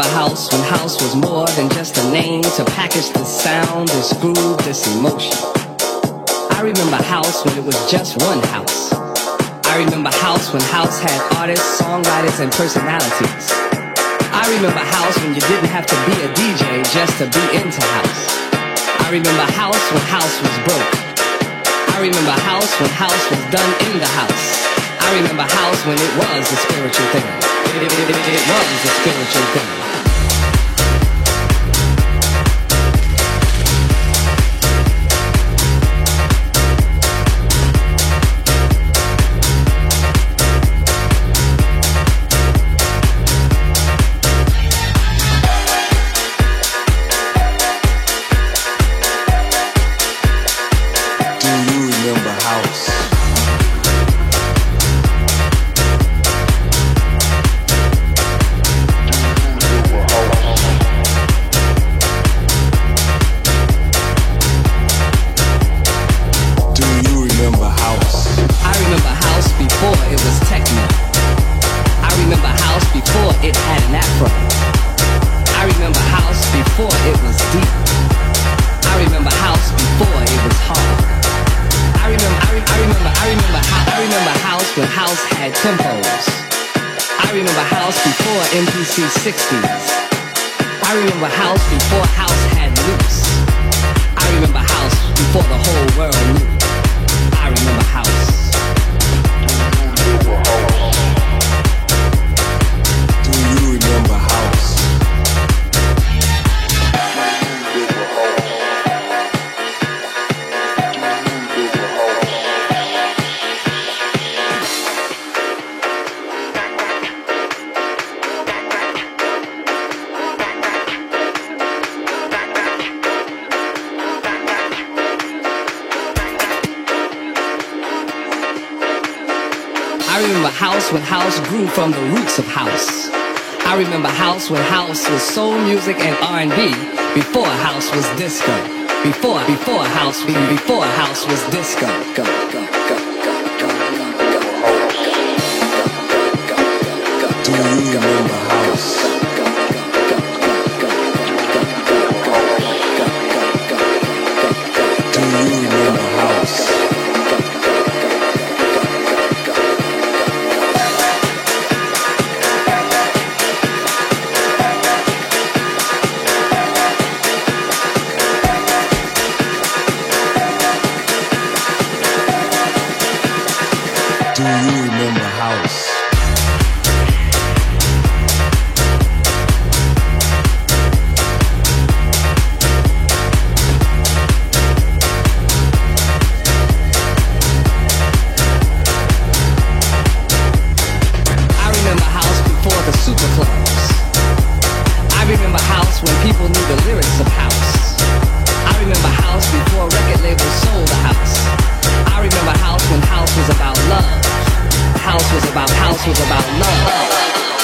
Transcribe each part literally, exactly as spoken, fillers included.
remember house when house was more than just a name to package this sound, this groove, this emotion. I remember house when it was just one house. I remember house when house had artists, songwriters, and personalities. I remember house when you didn't have to be a D J just to be into house. I remember house when house was broke. I remember house when house was done in the house. I remember house when it was a spiritual thing. It, it, it, it, it was a spiritual thing. sixties. I remember house before house had loops. I remember house before the whole world knew. I remember house. Do you remember house? House when house grew from the roots of house. I remember house when house was soul music and R and B. Before house was disco. Before, before house, before house was disco. Go, go, go, go, go, go, go, go, go, go. Do you remember house? Do you remember house? Do you remember house? I remember house before the super clubs. I remember house when people knew the lyrics of house. I remember house before record labels sold the house. I remember house when house was about love. House was about, house was about love.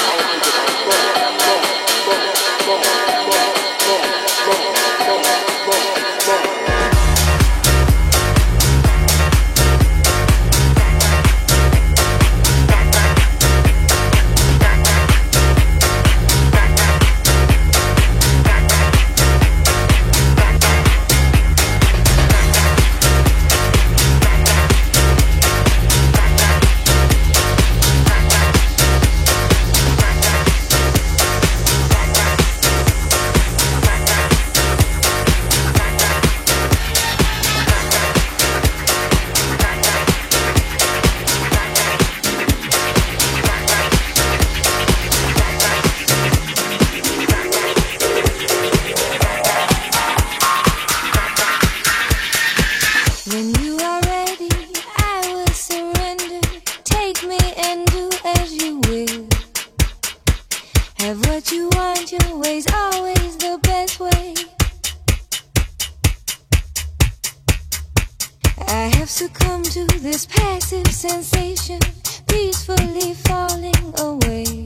Succumb to this passive sensation, peacefully falling away.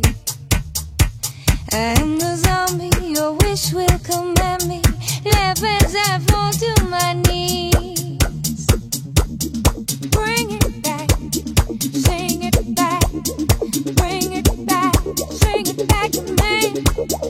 I am the zombie, your wish will command me. Laugh as I fall to my knees. Bring it back, sing it back. Bring it back, sing it back to me.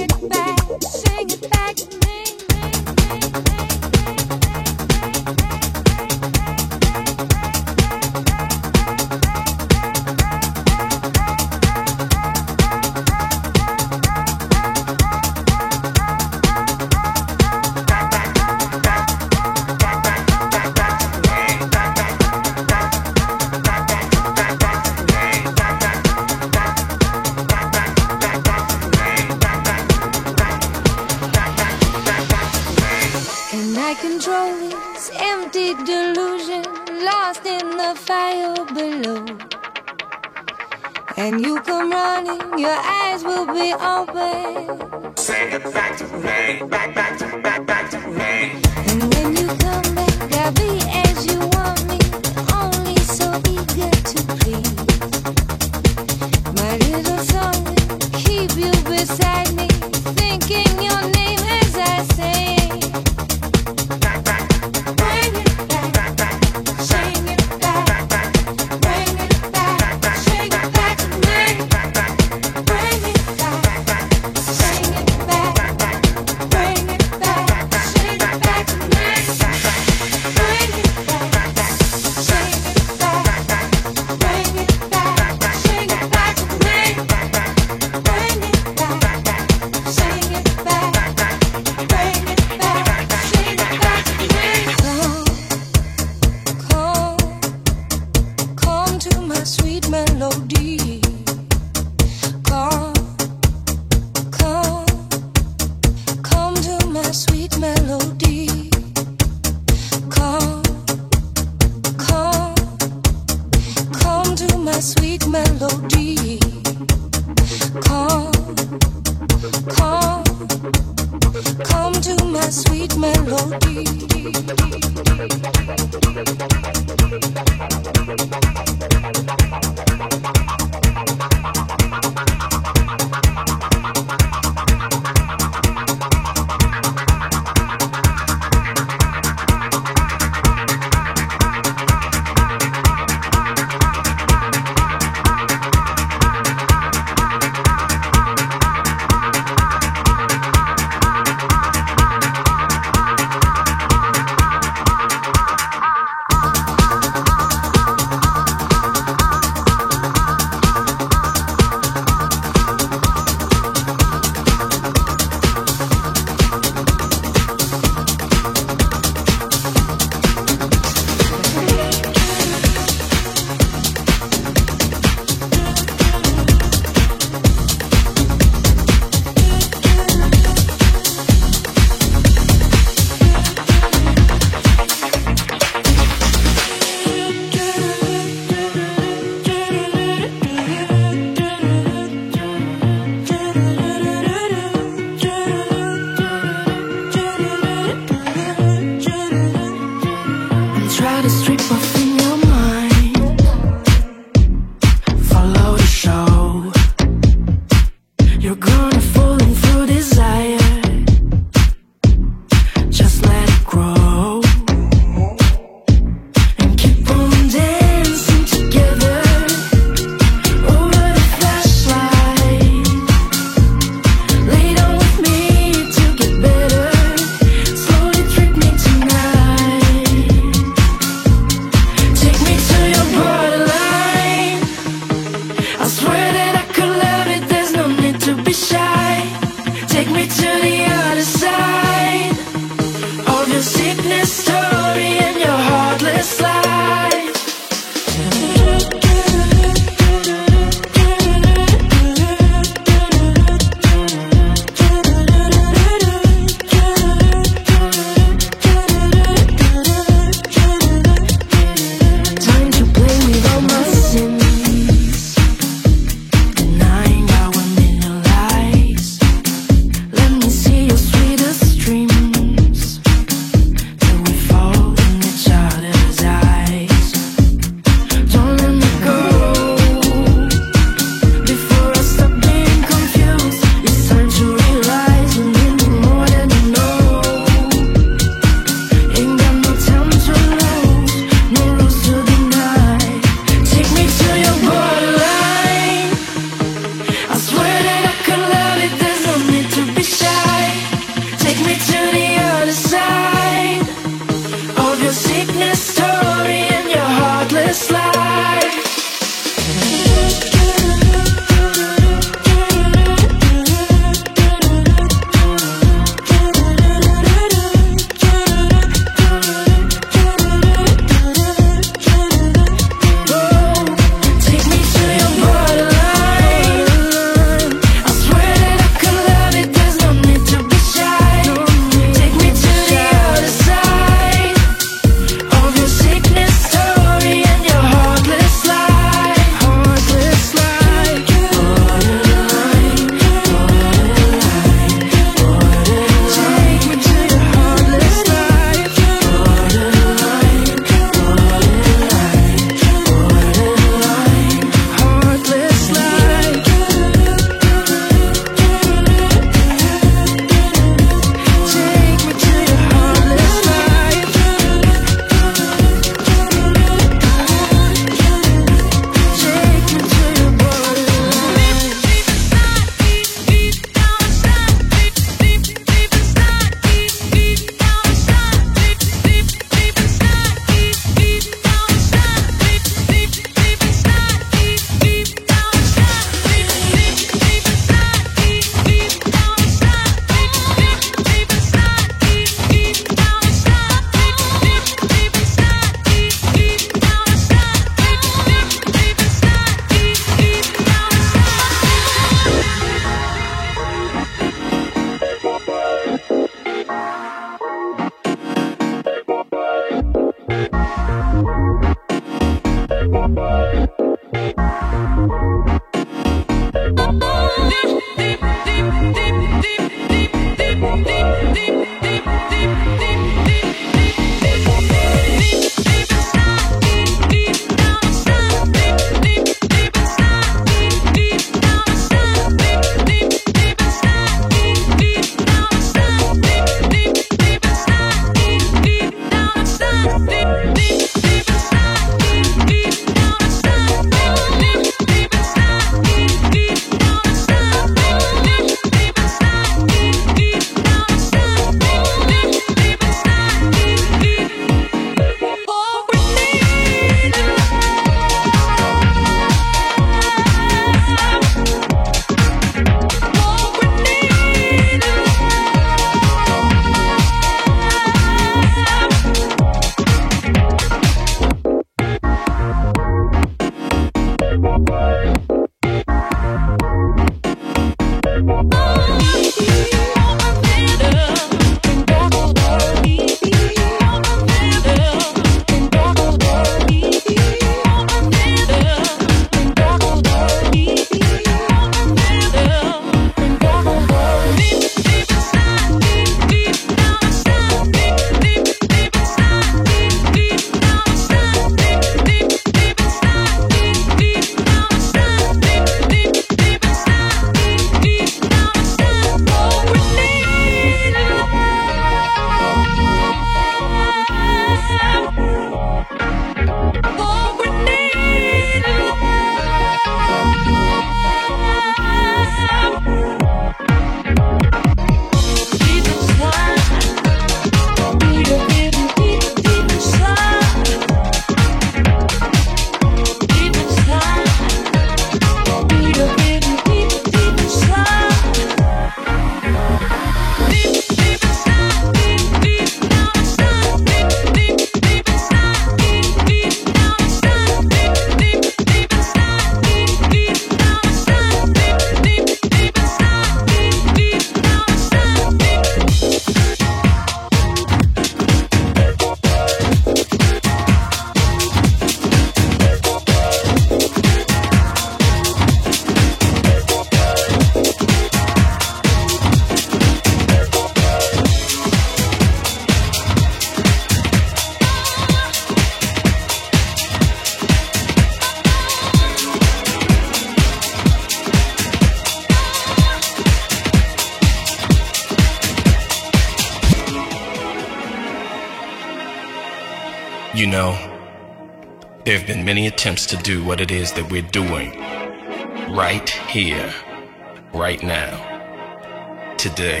You know, there have been many attempts to do what it is that we're doing right here, right now, today.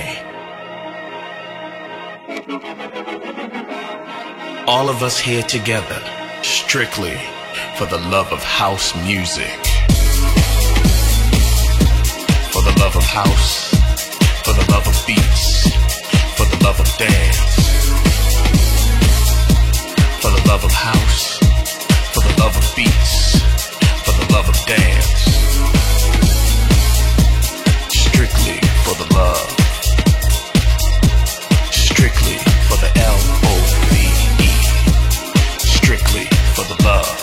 All of us here together, strictly for the love of house music. For the love of house, for the love of beats, for the love of dance. For the love of house, for the love of beats, for the love of dance. Strictly for the love. Strictly for the L O V E. Strictly for the love.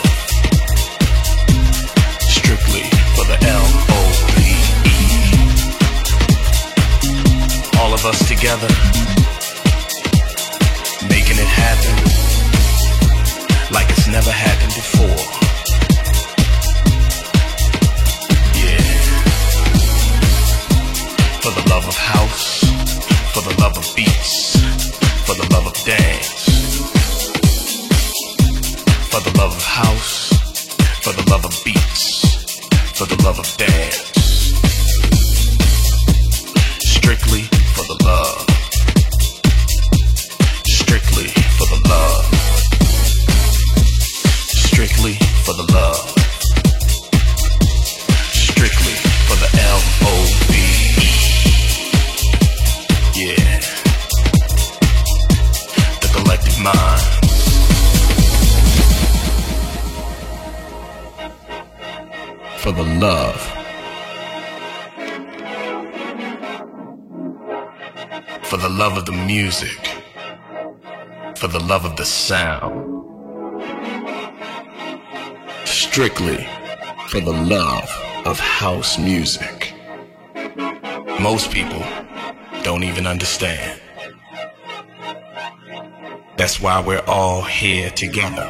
Strictly for the L O V E. All of us together, making it happen like it's never happened before. Yeah. For the love of house, for the love of beats, for the love of dance. For the love of house, for the love of beats, for the love of dance. Strictly for the love. Strictly for the love. Strictly for the love. Strictly for the L O V E. Yeah. The collective mind. For the love. For the love of the music. For the love of the sound. Strictly for the love of house music. Most people don't even understand. That's why we're all here together.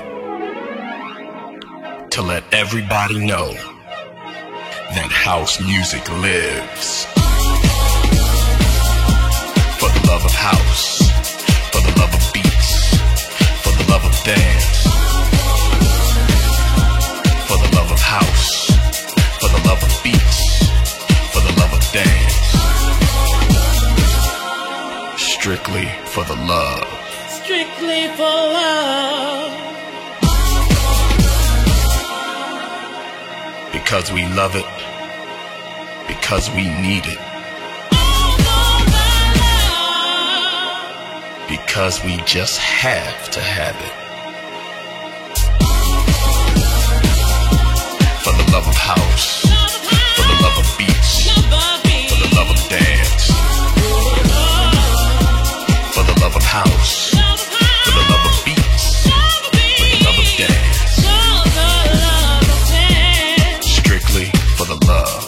To let everybody know that house music lives. For the love of house, for the love of beats, for the love of dance. For the love of house, for the love of beats, for the love of dance. Strictly for the love. Strictly for love. Because we love it, because we need it. Because we just have to have it. For the love of house, for the love of beats, for the love of dance. For the love of house, for the love of beats, for the love of dance. Strictly for the love.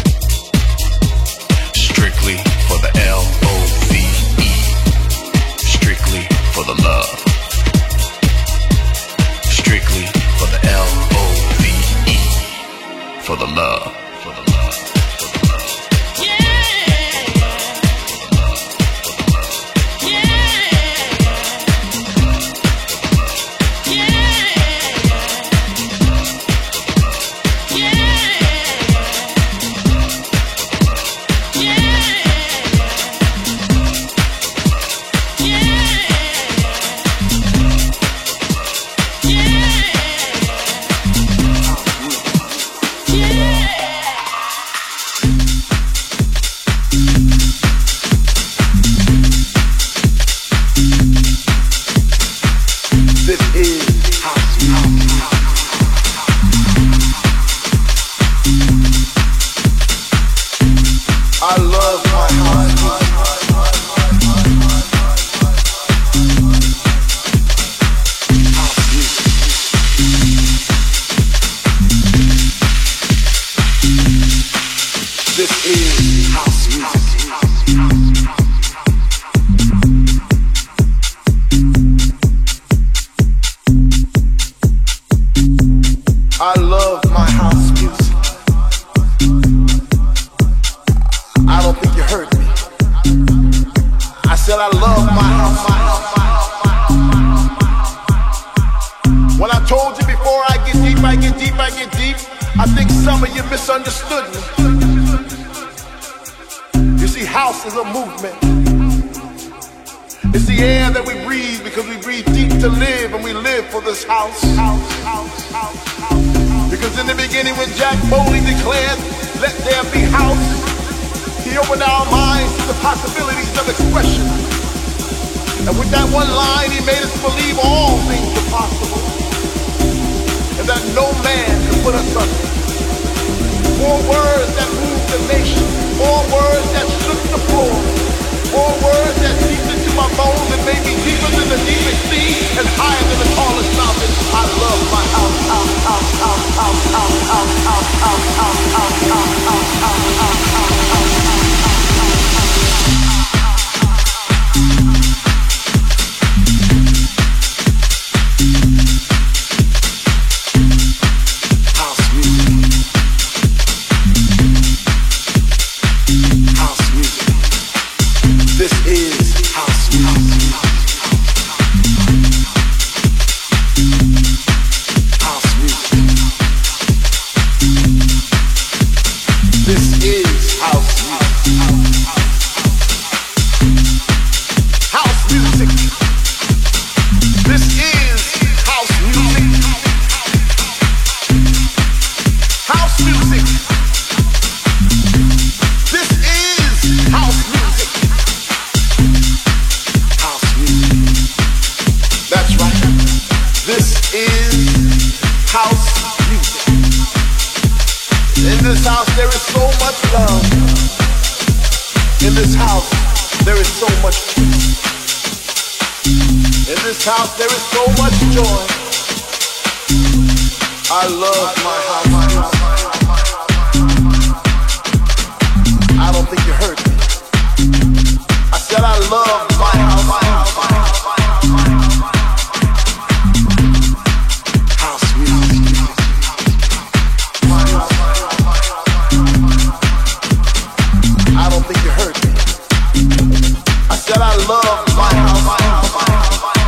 Strictly for the L O V E. Strictly for the love. Strictly for the L O V E. For the love, for the love, for the love. Yeah. For the love, for the love. Yeah. said I love my house. misunderstood me. You see, house is a movement. It's the air that we breathe because we breathe deep to live, and we live for this house. house, house, house, house. Because in the beginning when Jack Bowley declared, let there be house, he opened our minds to the possibilities of expression. And with that one line, he made us believe all things are possible, and that no man can put us under. More words that moved the nation, more words that shook the floor, more words that seeped into my bones and made me deeper than the deepest sea and higher than the tallest mountain. I love my house, house, house, house, house, house, house, house, house, house, house, house, house, house, house, house, house. House, there is so much joy. I love my house. I don't think you heard me. I said I love my house. My house, my house, my house, my house. House music. My house, my house, my house. I don't think you heard me. I said I love my house. My house, my house.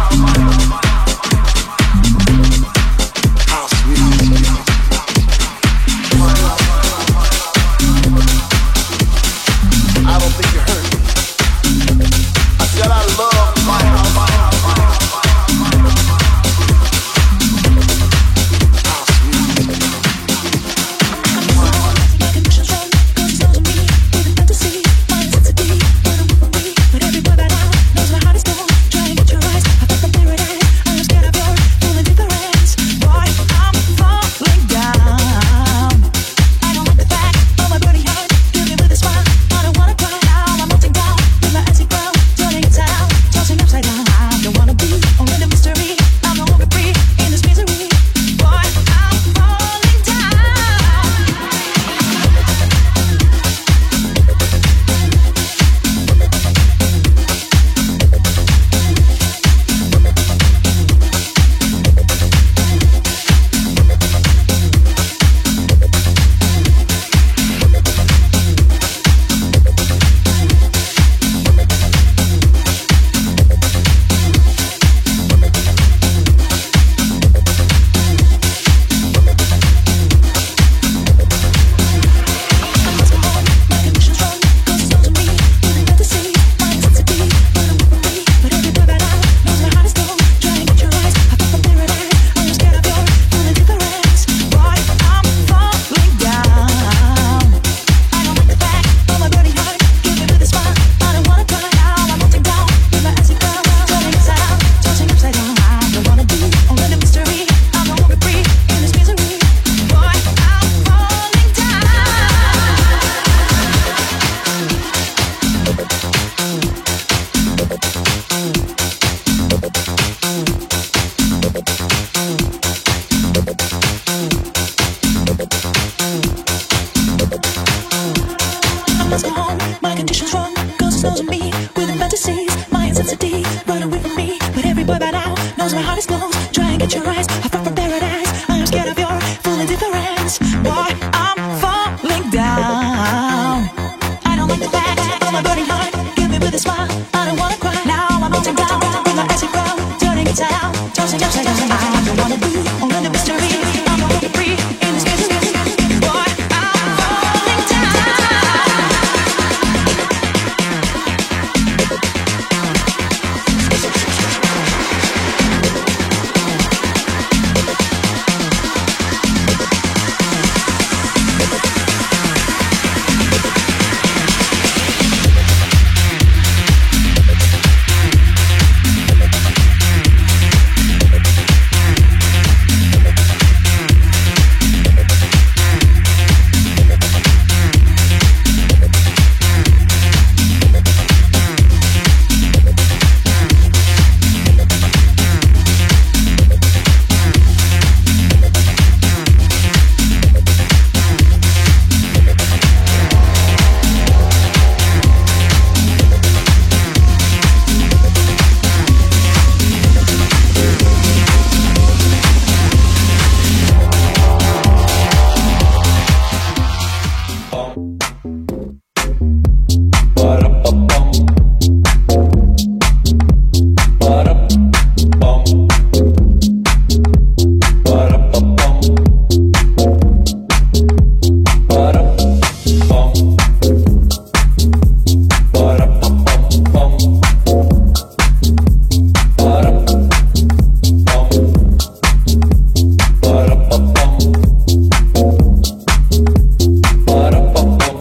Tossing upside down, I don't wanna be only the mystery. I'm gonna be free in this misery. Boy, I'm Para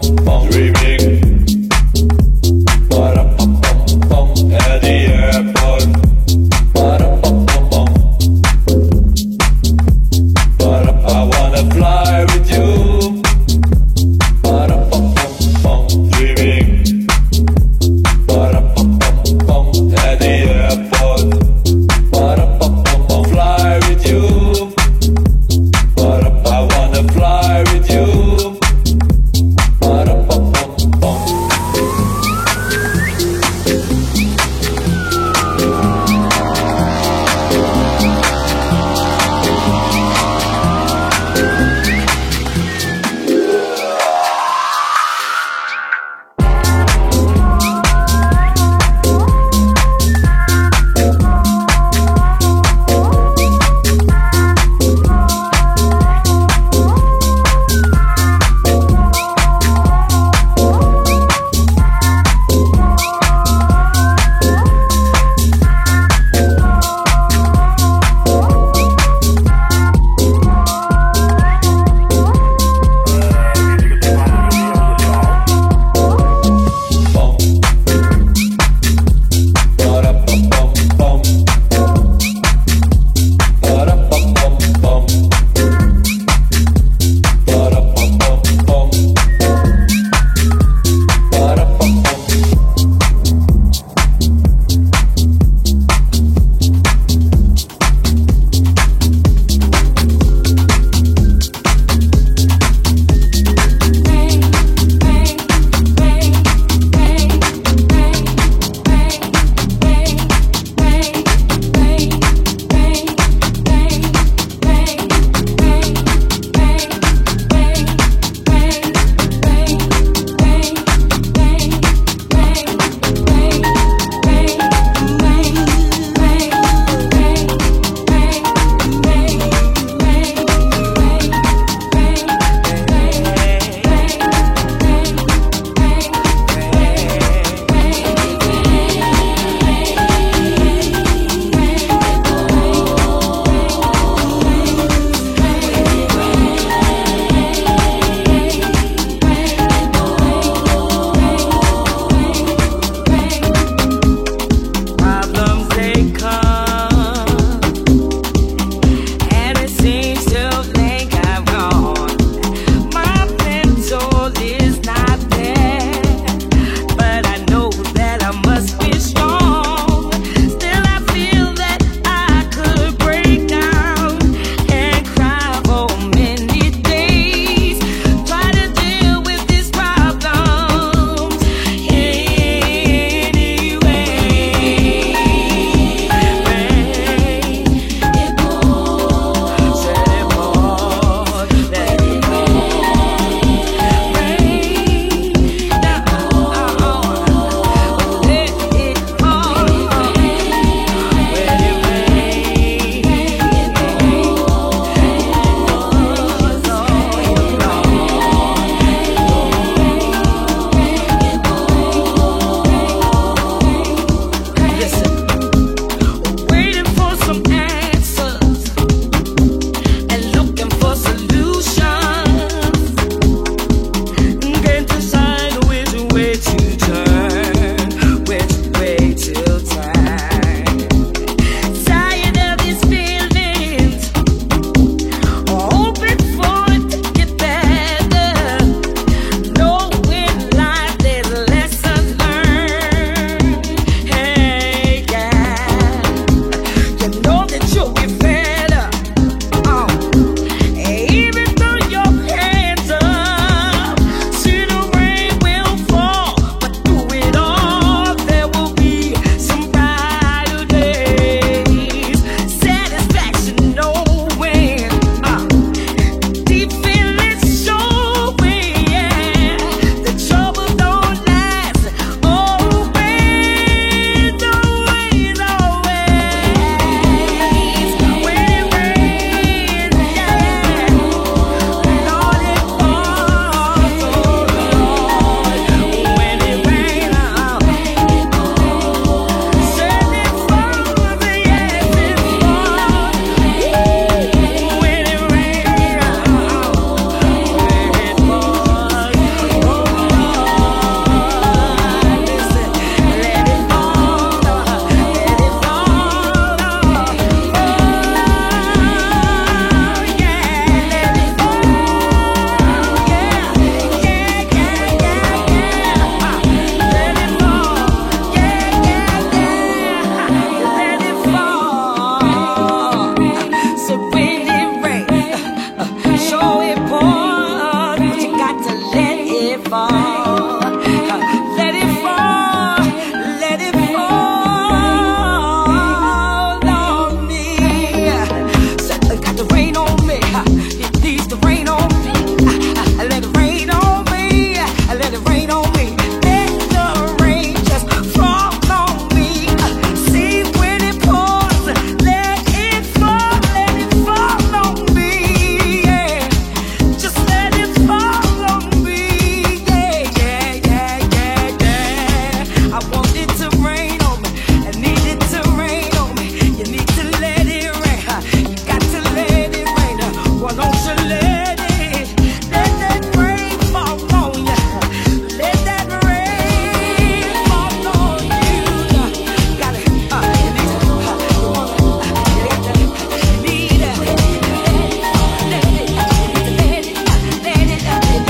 it fall. Let it fall, let it fall on me. Said it got to rain on me. It needs to rain on me. Let it rain on me. Let it rain on me. Let the rain just fall on me. See when it pours. Let it fall, let it fall on me. Yeah. Just let it fall on me. Yeah, yeah, yeah, yeah, yeah. I want it to rain on me. I need it to rain on me. You need to let it rain. You got to let it rain. Why don't you let it? Let that rain fall on you. Let that rain fall on you. Got it. Uh, you need it. Uh, you want it. Uh, you got that. You need it. Let it. Let it. Let it. Let it. Let it.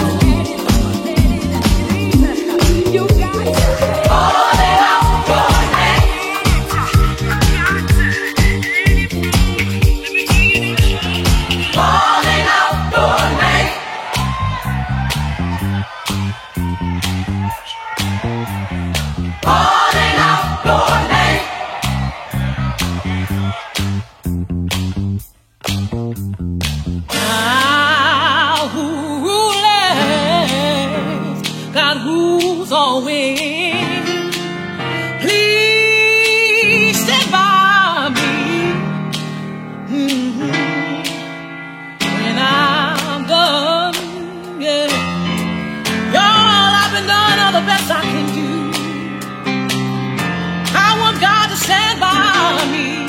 You got it. All it out for me. Falling out for me. Falling out for me. Now who rules? God rules always. Please stand by me. Mhm. When I'm done, yeah. Y'all, I've been done all the best I can do. I want God to stand by me.